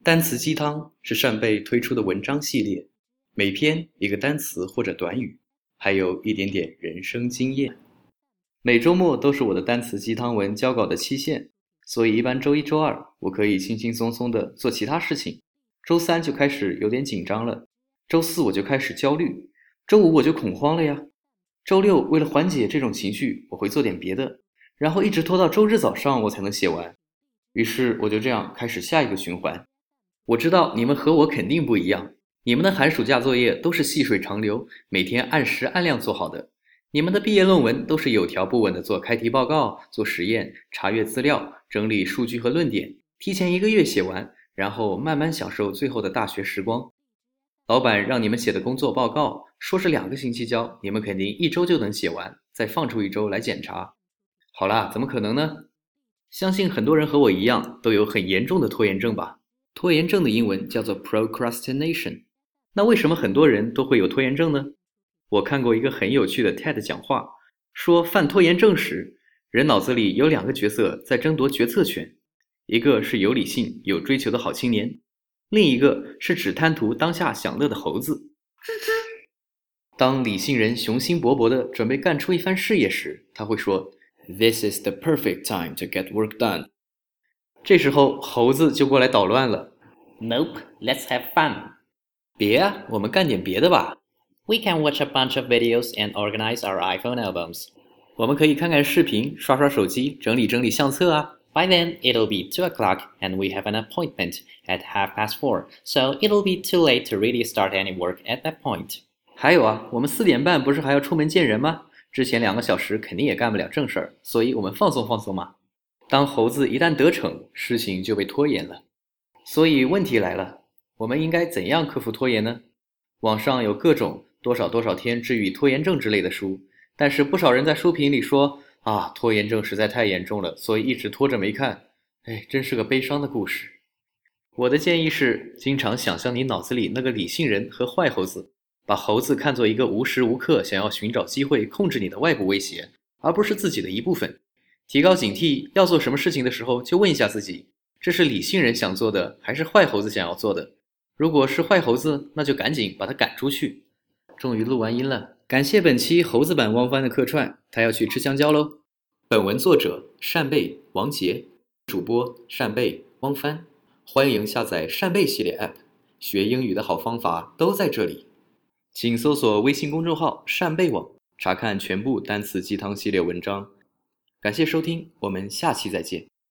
单词鸡汤是扇贝推出的文章系列，每篇一个单词或者短语，还有一点点人生经验。每周末都是我的单词鸡汤文交稿的期限，所以一般周一周二我可以轻轻松松地做其他事情，周三就开始有点紧张了，周四我就开始焦虑，周五我就恐慌了呀，周六为了缓解这种情绪，我会做点别的，然后一直拖到周日早上我才能写完。于是我就这样开始下一个循环。我知道你们和我肯定不一样，你们的寒暑假作业都是细水长流，每天按时按量做好的。你们的毕业论文都是有条不紊地做开题报告、做实验、查阅资料、整理数据和论点，提前1个月写完，然后慢慢享受最后的大学时光。老板让你们写的工作报告，说是2个星期交，你们肯定1周就能写完，再放出1周来检查。好啦，怎么可能呢？相信很多人和我一样，都有很严重的拖延症吧。拖延症的英文叫做 procrastination。那为什么很多人都会有拖延症呢？我看过一个很有趣的 TED 讲话，说犯拖延症时，人脑子里有2个角色在争夺决策权，一个是有理性、有追求的好青年，另一个是只贪图当下享乐的猴子。当理性人雄心勃勃地准备干出一番事业时，他会说 This is the perfect time to get work done。这时候猴子就过来捣乱了。 Nope, let's have fun. 别啊，我们干点别的吧。 We can watch a bunch of videos and organize our iPhone albums. 我们可以看看视频，刷刷手机，整理整理相册啊。 By then, it'll be 2 o'clock and we have an appointment at 4:30, so it'll be too late to really start any work at that point. 还有啊，我们4点半不是还要出门见人吗？之前2个小时肯定也干不了正事儿，所以我们放松放松嘛。当猴子一旦得逞，事情就被拖延了。所以问题来了，我们应该怎样克服拖延呢？网上有各种多少天治愈拖延症之类的书，但是不少人在书评里说啊，拖延症实在太严重了，所以一直拖着没看。真是个悲伤的故事。我的建议是，经常想象你脑子里那个理性人和坏猴子，把猴子看作一个无时无刻想要寻找机会控制你的外部威胁，而不是自己的一部分。提高警惕，要做什么事情的时候就问一下自己，这是理性人想做的还是坏猴子想要做的？如果是坏猴子，那就赶紧把它赶出去。终于录完音了，感谢本期猴子版汪帆的客串，他要去吃香蕉喽。本文作者扇贝王杰，主播扇贝汪帆。欢迎下载扇贝系列 App， 学英语的好方法都在这里。请搜索微信公众号扇贝网，查看全部单词鸡汤系列文章。感谢收听，我们下期再见。